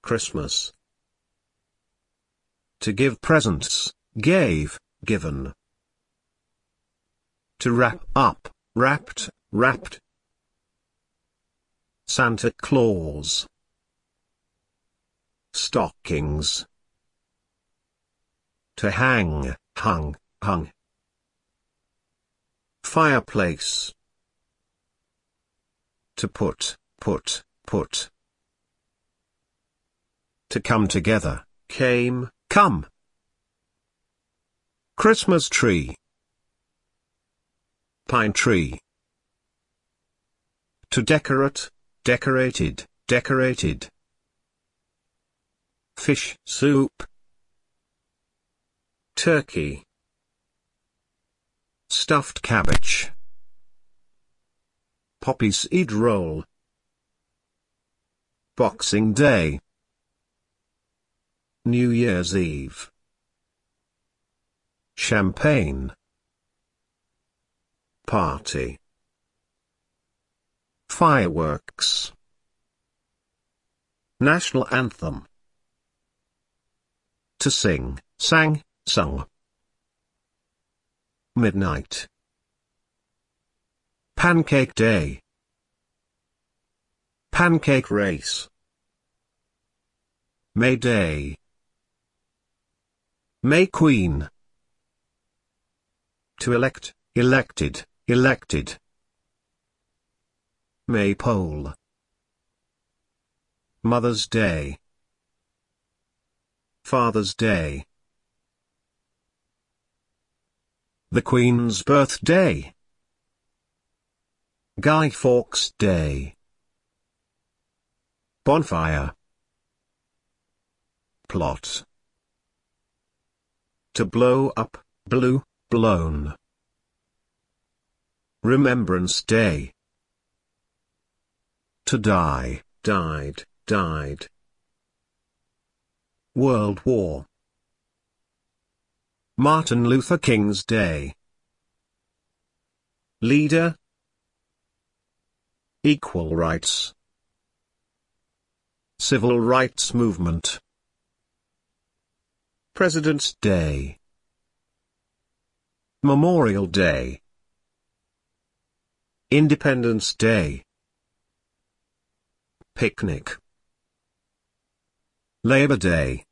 Christmas. To give presents, gave, given. To wrap up, wrapped, wrapped. Santa Claus. Stockings. To hang, hung, hung. Fireplace. To put, put, put. To come together, came, come. Christmas tree. Pine tree. To decorate, decorated, decorated. Fish soup. Turkey. Stuffed cabbage. Poppy seed roll. Boxing Day. New Year's Eve. Champagne. Party. Fireworks. National anthem. To sing, sang, sung. Midnight. Pancake Day. Pancake race. May Day. May Queen. To elect, elected, elected. Maypole. Mother's Day. Father's Day. The Queen's birthday. Guy Fawkes Day. Bonfire. Plot. To blow up, blew, blown. Remembrance Day. To die, died, died. World War. Martin Luther King's Day. Leader. Equal rights. Civil rights movement. President's Day. Memorial Day. Independence Day. Picnic. Labor Day.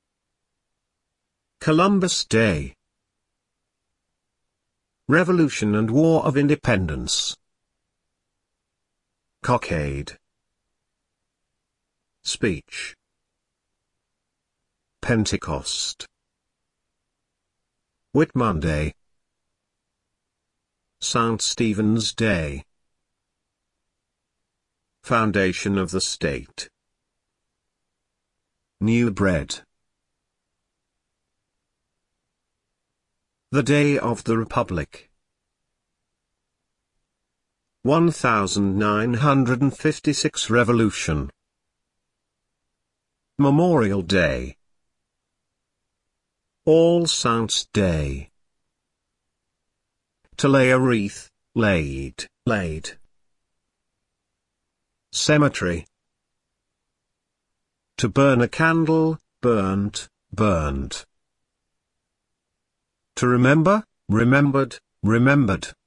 Columbus Day. Revolution and War of Independence. Cockade. Speech. Pentecost. Whitmonday. St. Stephen's Day. Foundation of the State. New Bread. The Day of the Republic. 1956 Revolution. Memorial Day. All Saints' Day. To lay a wreath, laid, laid. Cemetery. To burn a candle, burnt, burned. To remember, remembered, remembered.